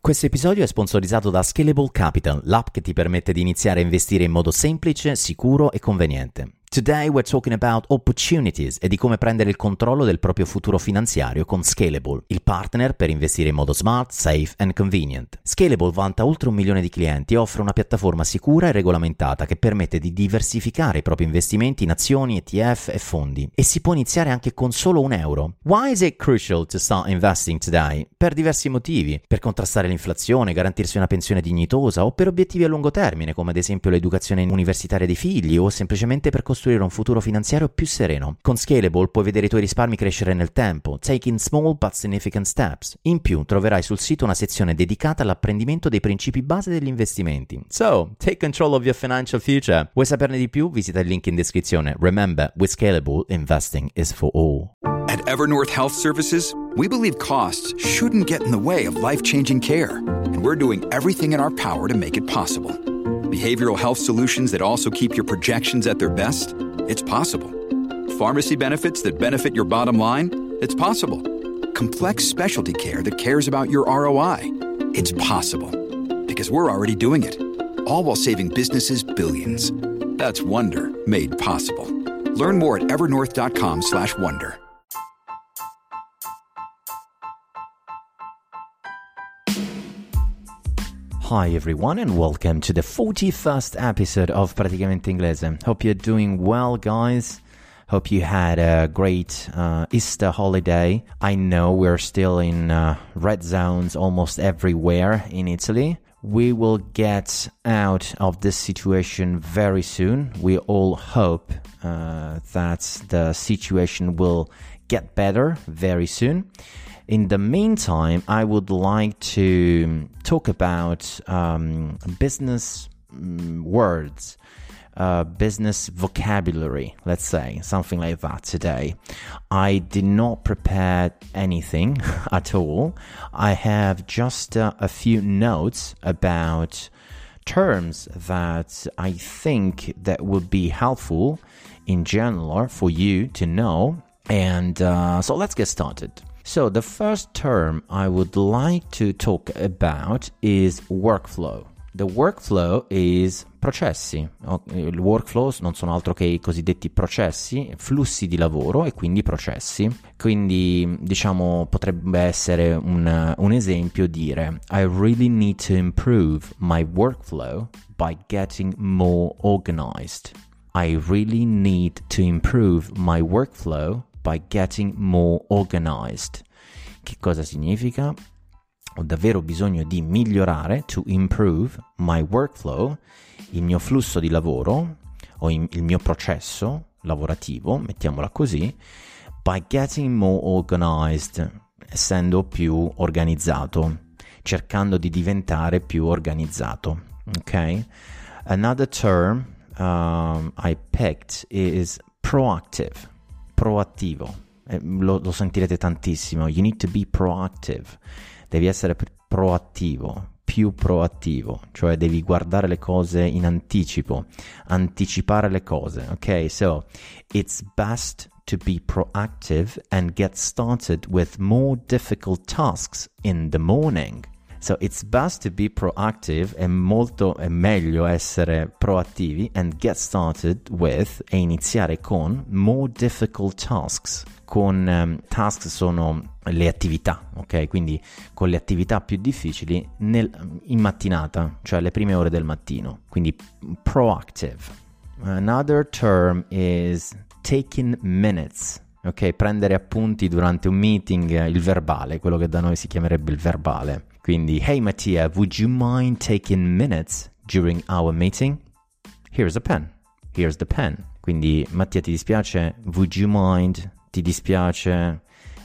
Questo episodio è sponsorizzato da Scalable Capital, l'app che ti permette di iniziare a investire in modo semplice, sicuro e conveniente. Today we're talking about opportunities e di come prendere il controllo del proprio futuro finanziario con Scalable, il partner per investire in modo smart, safe and convenient. Scalable vanta oltre 1 milione di clienti e offre una piattaforma sicura e regolamentata che permette di diversificare i propri investimenti in azioni, ETF e fondi. E si può iniziare anche con solo €1. Why is it crucial to start investing today? Per diversi motivi. Per contrastare l'inflazione, garantirsi una pensione dignitosa o per obiettivi a lungo termine, come ad esempio l'educazione universitaria dei figli o semplicemente per costruire un futuro finanziario più sereno. Con Scalable puoi vedere i tuoi risparmi crescere nel tempo, taking small but significant steps. In più troverai sul sito una sezione dedicata all'apprendimento dei principi base degli investimenti. So, take control of your financial future. Vuoi saperne di più? Visita il link in descrizione. Remember, with Scalable, investing is for all. At Evernorth Health Services, we believe costs shouldn't get in the way of life-changing care, and we're doing everything in our power to make it possible. Behavioral health solutions that also keep your projections at their best? It's possible. Pharmacy benefits that benefit your bottom line? It's possible. Complex specialty care that cares about your ROI? It's possible. Because we're already doing it. All while saving businesses billions. That's Wonder made possible. Learn more at evernorth.com/wonder. Hi everyone and welcome to the 41st episode of Praticamente Inglese. Hope you're doing well, guys. Hope you had a great Easter holiday. I know we're still in red zones almost everywhere in Italy. We will get out of this situation very soon. We all hope that the situation will get better very soon. In the meantime, I would like to talk about business words, business vocabulary, let's say, something like that today. I did not prepare anything at all. I have just a few notes about terms that I think that would be helpful in general for you to know. And so let's get started. So the first term I would like to talk about is workflow. The workflow is processi. Il workflow non sono altro che i cosiddetti processi, flussi di lavoro e quindi processi. Quindi diciamo potrebbe essere un esempio dire I really need to improve my workflow by getting more organized. I really need to improve my workflow by getting more organized. Che cosa significa? Ho davvero bisogno di migliorare, to improve my workflow, il mio flusso di lavoro o il mio processo lavorativo, mettiamola così, by getting more organized, essendo più organizzato, cercando di diventare più organizzato. Ok? Another term I picked is proactive. Proattivo, lo sentirete tantissimo. You need to be proactive. Devi essere proattivo, più proattivo, cioè devi guardare le cose in anticipo, anticipare le cose. Ok, so it's best to be proactive and get started with more difficult tasks in the morning. So it's best to be proactive, è meglio essere proattivi and get started with, e iniziare con, more difficult tasks. Con tasks sono le attività, ok? Quindi con le attività più difficili in mattinata, cioè le prime ore del mattino. Quindi proactive. Another term is taking minutes. Ok, prendere appunti durante un meeting, il verbale, quello che da noi si chiamerebbe il verbale. Quindi, hey Mattia, would you mind taking minutes during our meeting? Here's a pen. Here's the pen. Quindi, Mattia, ti dispiace? Would you mind? Ti dispiace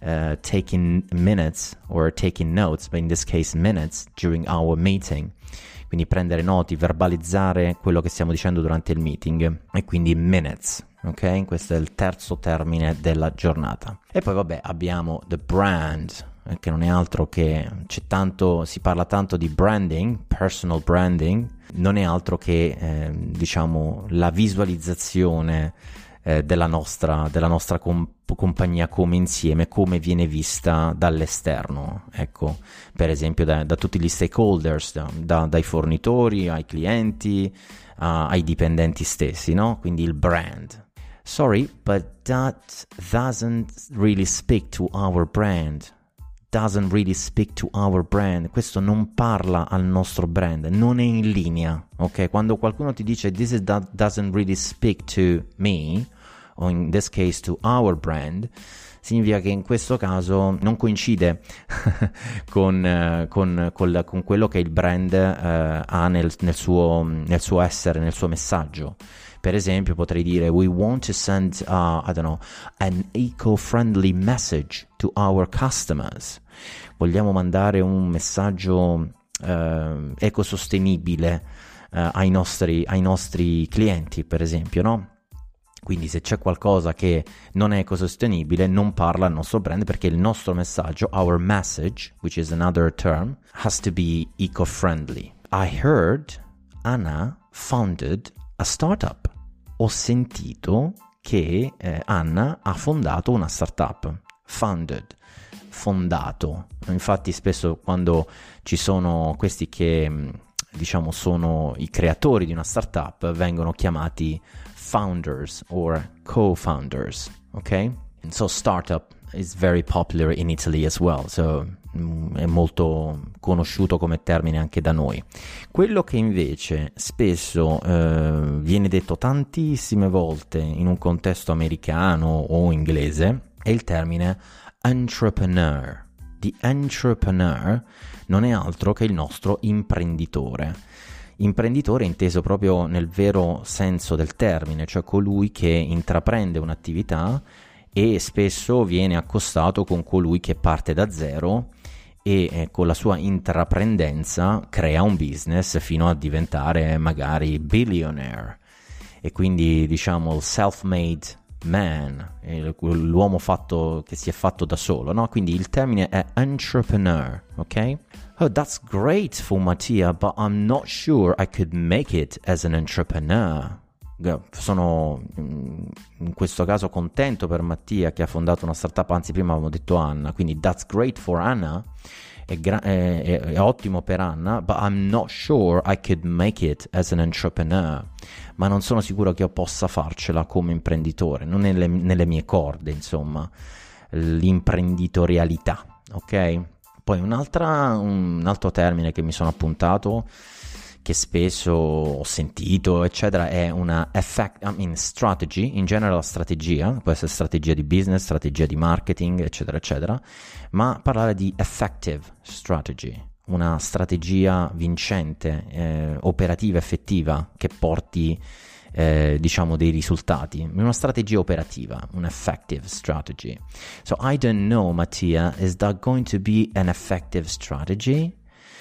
taking minutes or taking notes, but in this case minutes, during our meeting? Quindi prendere noti, verbalizzare quello che stiamo dicendo durante il meeting. E quindi minutes. Ok? Questo è il terzo termine della giornata. E poi vabbè abbiamo the brand, che non è altro che si parla tanto di branding, personal branding, non è altro che diciamo la visualizzazione della nostra compagnia come insieme, come viene vista dall'esterno, ecco, per esempio da tutti gli stakeholders, dai fornitori ai clienti, ai dipendenti stessi, no? Quindi il brand. Sorry, but that doesn't really speak to our brand. Doesn't really speak to our brand. Questo non parla al nostro brand, non è in linea, ok? Quando qualcuno ti dice doesn't really speak to me, o in this case to our brand, significa che in questo caso non coincide con quello che il brand ha nel suo essere, nel suo messaggio. Per esempio potrei dire we want to send an eco-friendly message to our customers. Vogliamo mandare un messaggio ecosostenibile ai nostri clienti, per esempio, no? Quindi se c'è qualcosa che non è ecosostenibile non parla al nostro brand, perché il nostro messaggio, our message, which is another term, has to be eco-friendly. I heard Anna founded a startup. Ho sentito che Anna ha fondato una startup. Founded, fondato. Infatti spesso quando ci sono questi che diciamo sono i creatori di una startup vengono chiamati founders or co-founders, ok? And so startup is very popular in Italy as well, so è molto conosciuto come termine anche da noi. Quello che invece spesso viene detto tantissime volte in un contesto americano o inglese è il termine entrepreneur. The entrepreneur non è altro che il nostro imprenditore. Imprenditore inteso proprio nel vero senso del termine, cioè colui che intraprende un'attività e spesso viene accostato con colui che parte da zero e con la sua intraprendenza crea un business fino a diventare magari billionaire, e quindi diciamo il self-made man, l'uomo che si è fatto da solo, no? Quindi il termine è entrepreneur, ok? Oh, that's great for Mattia, but I'm not sure I could make it as an entrepreneur. Sono in questo caso contento per Mattia che ha fondato una startup, anzi prima avevo detto Anna, quindi that's great for Anna, è ottimo per Anna, but I'm not sure I could make it as an entrepreneur, ma non sono sicuro che io possa farcela come imprenditore, non è nelle mie corde, insomma, l'imprenditorialità, ok? Poi un altro termine che mi sono appuntato, che spesso ho sentito, eccetera, è una strategy, in genere la strategia, può essere strategia di business, strategia di marketing, eccetera, eccetera, ma parlare di effective strategy, una strategia vincente, operativa, effettiva, che porti, diciamo, dei risultati, una strategia operativa, un effective strategy. So I don't know, Mattia, is that going to be an effective strategy?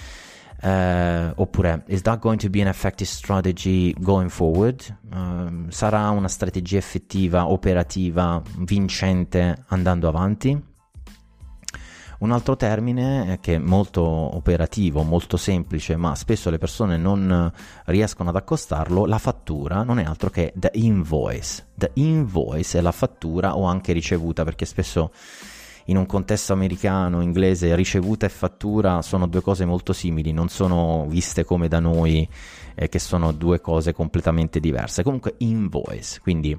Oppure is that going to be an effective strategy going forward? Sarà una strategia effettiva, operativa, vincente andando avanti? Un altro termine che è molto operativo, molto semplice, ma spesso le persone non riescono ad accostarlo, la fattura non è altro che the invoice. The invoice è la fattura o anche ricevuta, perché spesso in un contesto americano, inglese, ricevuta e fattura sono due cose molto simili, non sono viste come da noi, che sono due cose completamente diverse. Comunque invoice, quindi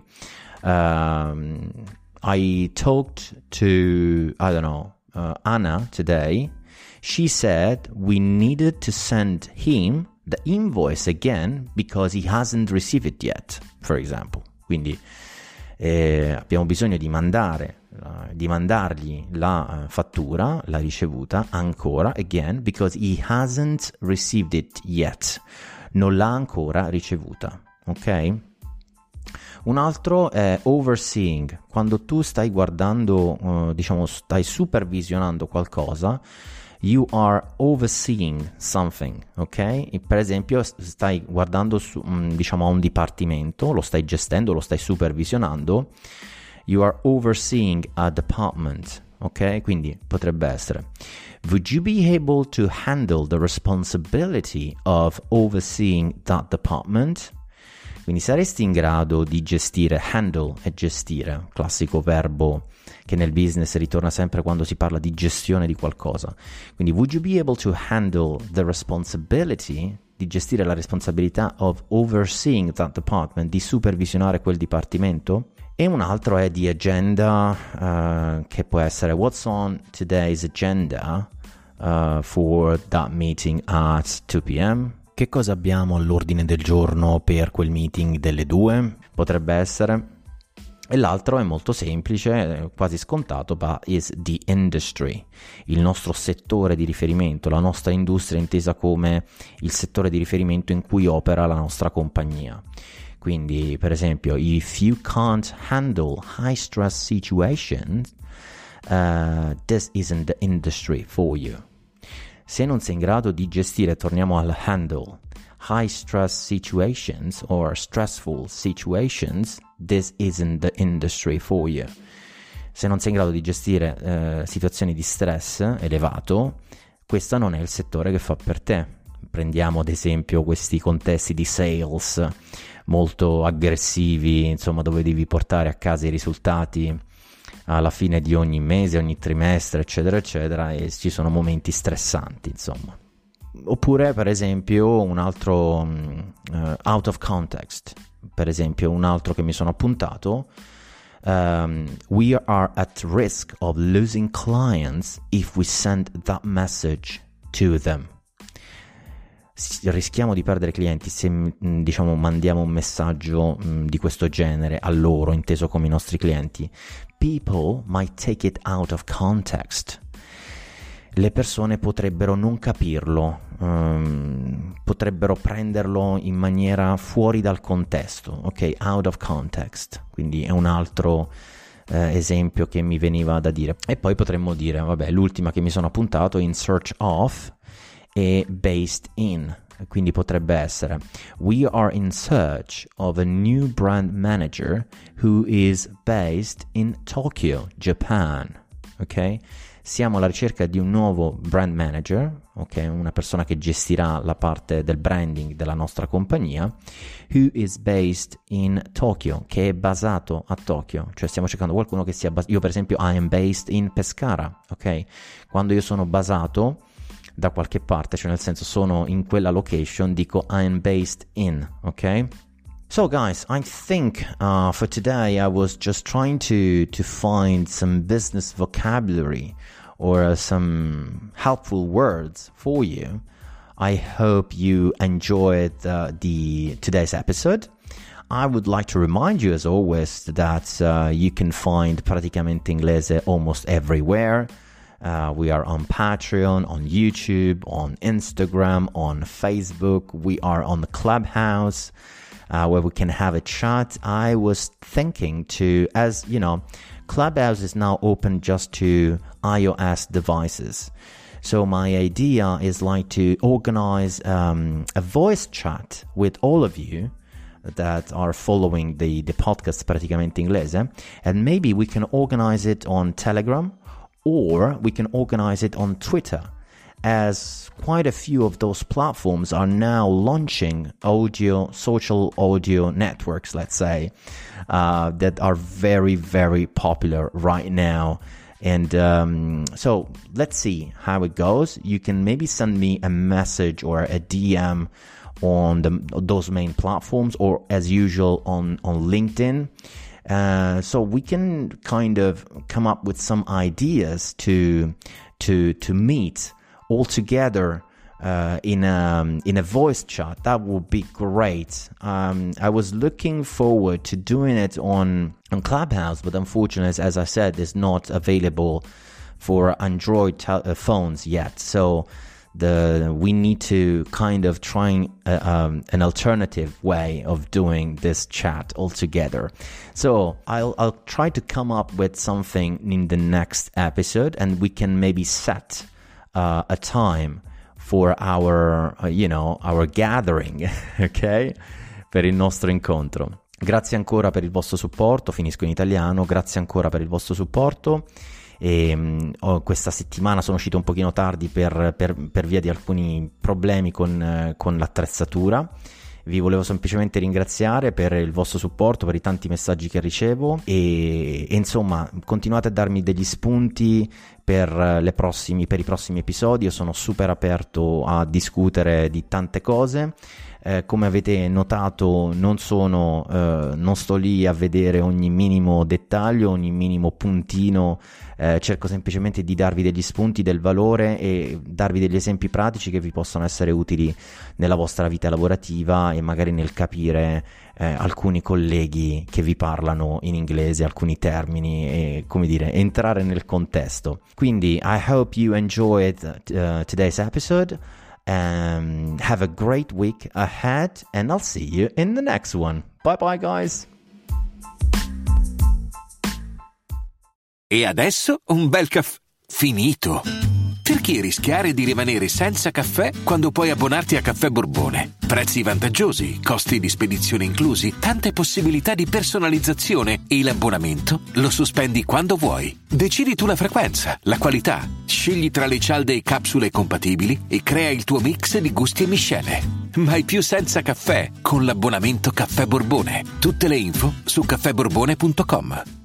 I talked to, Anna today. She said we needed to send him the invoice again because he hasn't received it yet, for example. Quindi abbiamo bisogno di mandargli la fattura, la ricevuta, ancora, again, because he hasn't received it yet. Non l'ha ancora ricevuta, ok? Un altro è overseeing, quando tu stai guardando, stai supervisionando qualcosa, you are overseeing something, ok? E per esempio stai guardando a un dipartimento, lo stai gestendo, lo stai supervisionando, you are overseeing a department, ok? Quindi potrebbe essere would you be able to handle the responsibility of overseeing that department? Quindi saresti in grado di gestire, handle è gestire, classico verbo che nel business ritorna sempre quando si parla di gestione di qualcosa. Quindi would you be able to handle the responsibility, di gestire la responsabilità of overseeing that department, di supervisionare quel dipartimento? E un altro è di agenda, che può essere what's on today's agenda for that meeting at 2 p.m. Che cosa abbiamo all'ordine del giorno per quel meeting delle 2? Potrebbe essere. E l'altro è molto semplice, quasi scontato, but is the industry, il nostro settore di riferimento, la nostra industria intesa come il settore di riferimento in cui opera la nostra compagnia. Quindi, per esempio, if you can't handle high stress situations, this isn't the industry for you. Se non sei in grado di gestire, torniamo al handle, high stress situations or stressful situations, this isn't the industry for you. Se non sei in grado di gestire situazioni di stress elevato, questo non è il settore che fa per te. Prendiamo ad esempio questi contesti di sales molto aggressivi, insomma, dove devi portare a casa i risultati alla fine di ogni mese, ogni trimestre, eccetera, eccetera, e ci sono momenti stressanti, insomma. Oppure, per esempio, un altro out of context, per esempio, un altro che mi sono appuntato, we are at risk of losing clients if we send that message to them. Rischiamo di perdere clienti se, diciamo, mandiamo un messaggio di questo genere a loro, inteso come i nostri clienti. People might take it out of context. Le persone potrebbero non capirlo, potrebbero prenderlo in maniera fuori dal contesto, ok? Out of context. Quindi è un altro esempio che mi veniva da dire. E poi potremmo dire, vabbè, l'ultima che mi sono appuntato, in search of, e based in, quindi potrebbe essere we are in search of a new brand manager who is based in Tokyo, Japan. Ok? Siamo alla ricerca di un nuovo brand manager, ok? Una persona che gestirà la parte del branding della nostra compagnia, who is based in Tokyo, che è basato a Tokyo, cioè stiamo cercando qualcuno che sia io per esempio I am based in Pescara, ok? Quando io sono basato da qualche parte, cioè nel senso sono in quella location, dico I'm based in, ok? So guys, I think for today I was just trying to find some business vocabulary or some helpful words for you. I hope you enjoyed today's episode. I would like to remind you as always that you can find Praticamente Inglese almost everywhere. We are on Patreon, on YouTube, on Instagram, on Facebook. We are on the Clubhouse, where we can have a chat. I was thinking as you know, Clubhouse is now open just to iOS devices. So my idea is like to organize a voice chat with all of you that are following the podcast Praticamente Inglese, and maybe we can organize it on Telegram, or we can organize it on Twitter, as quite a few of those platforms are now launching social audio networks, let's say, that are very, very popular right now. And so let's see how it goes. You can maybe send me a message or a DM on those main platforms, or as usual on LinkedIn. So we can kind of come up with some ideas to meet all together in a voice chat. That would be great. I was looking forward to doing it on Clubhouse, but unfortunately, as I said, it's not available for Android phones yet. So we need to kind of try an alternative way of doing this chat altogether. So I'll try to come up with something in the next episode, and we can maybe set a time for our gathering, ok? Per il nostro incontro. Grazie ancora per il vostro supporto, finisco in italiano, grazie ancora per il vostro supporto. E questa settimana sono uscito un pochino tardi per via di alcuni problemi con l'attrezzatura. Vi volevo semplicemente ringraziare per il vostro supporto, per i tanti messaggi che ricevo e insomma continuate a darmi degli spunti per i prossimi episodi. Io sono super aperto a discutere di tante cose. Come avete notato non sto lì a vedere ogni minimo dettaglio, ogni minimo puntino, cerco semplicemente di darvi degli spunti, del valore e darvi degli esempi pratici che vi possono essere utili nella vostra vita lavorativa e magari nel capire alcuni colleghi che vi parlano in inglese, alcuni termini e, come dire, entrare nel contesto. Quindi I hope you enjoyed today's episode. Have a great week ahead and I'll see you in the next one. Bye bye guys. E adesso un bel caffè finito. Perché rischiare di rimanere senza caffè quando puoi abbonarti a Caffè Borbone? Prezzi vantaggiosi, costi di spedizione inclusi, tante possibilità di personalizzazione e l'abbonamento lo sospendi quando vuoi. Decidi tu la frequenza, la qualità, scegli tra le cialde e capsule compatibili e crea il tuo mix di gusti e miscele. Mai più senza caffè con l'abbonamento Caffè Borbone. Tutte le info su caffèborbone.com.